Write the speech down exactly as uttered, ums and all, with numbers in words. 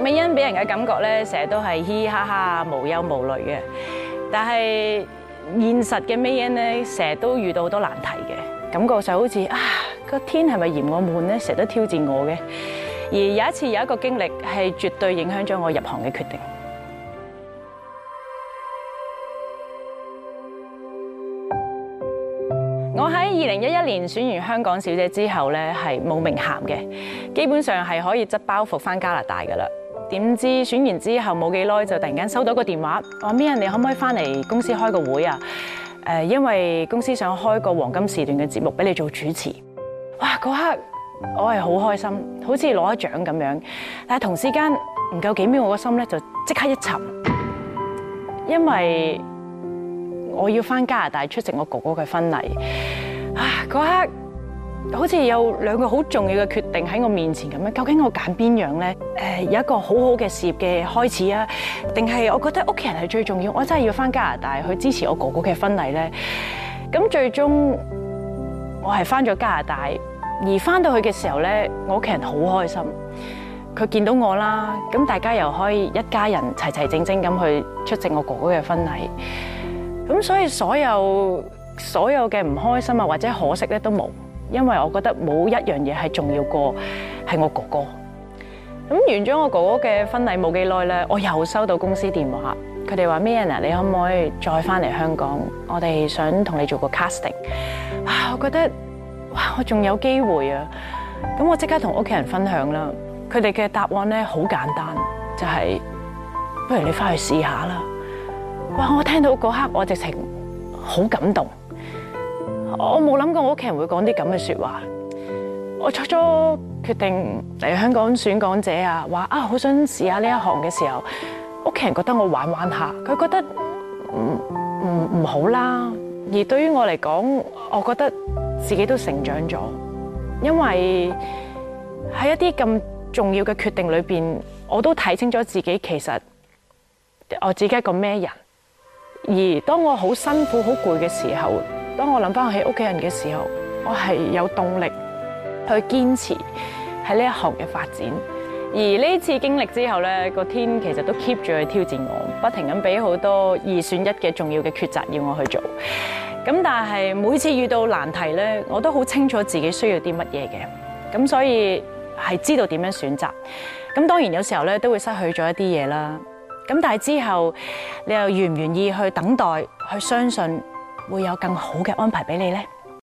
麥美恩俾人嘅感覺咧，成日都係嘻嘻哈哈、無憂無慮嘅。但係現實嘅美恩咧，成日都遇到好多難題嘅，感覺就好似啊個天係咪嫌我悶咧？成日都挑戰我嘅。而有一次有一個經歷係絕對影響咗我入行嘅決定。我喺二零一一年選完香港小姐之後咧，係冇名銜嘅，基本上係可以執包袱返加拿大㗎喇。點知選完之後冇幾耐就突然間收到個電話，話咩人你可唔可以返嚟公司開個會啊？誒，因為公司想開個黃金時段嘅節目俾你做主持。哇！嗰刻我係好開心，好似攞咗獎咁樣。但係同時間唔夠幾秒，我個心咧就即刻一沉，因為我要返加拿大出席我哥哥嘅婚禮。啊！嗰刻好似有兩個好重要嘅決定喺我面前咁樣，究竟我揀邊樣咧？誒，有一個好好嘅事業嘅開始啊，定係我覺得屋企人係最重要？我真係要返加拿大去支持我哥哥嘅婚禮咧。咁最終我係返咗加拿大，而返到去嘅時候咧，我屋企人好開心，佢見到我啦，咁大家又可以一家人齊齊整整咁去出席我哥哥嘅婚禮。咁所以所有所有嘅唔開心啊或者可惜咧都冇，因為我覺得冇一樣嘢係重要過係我哥哥。咁完咗我哥哥嘅婚禮冇幾耐咧，我又收到公司電話，佢哋話咩人啊？你可唔可以再翻嚟香港？我哋想同你做個 casting。啊，我覺得哇，我仲有機會啊！咁我即刻同屋企人分享啦。佢哋嘅答案咧好簡單，就係不如你翻去試下啦。哇！我聽到嗰刻，我直情好感動。我冇諗過我屋企人會講啲咁嘅説話。我初初決定嚟香港選港姐啊，話啊好想試下呢一行嘅時候，屋企人覺得我玩玩下，佢覺得唔唔唔好啦。而對於我嚟講，我覺得自己都成長咗，因為喺一啲咁重要嘅決定裏邊，我都睇清楚自己其實我自己係一個咩人。而當我好辛苦、好攰嘅時候，當我諗翻起屋企人嘅時候，我係有動力去堅持喺呢一行嘅發展。而呢次經歷之後咧，個天其實都 keep 住去挑戰我，不停咁俾好多二選一嘅重要嘅抉擇要我去做。咁但係每次遇到難題咧，我都好清楚自己需要啲乜嘢嘅，咁所以係知道點樣選擇。咁當然有時候咧都會失去咗一啲嘢啦。咁但係之後，你又願唔願意去等待、去相信會有更好嘅安排俾你呢？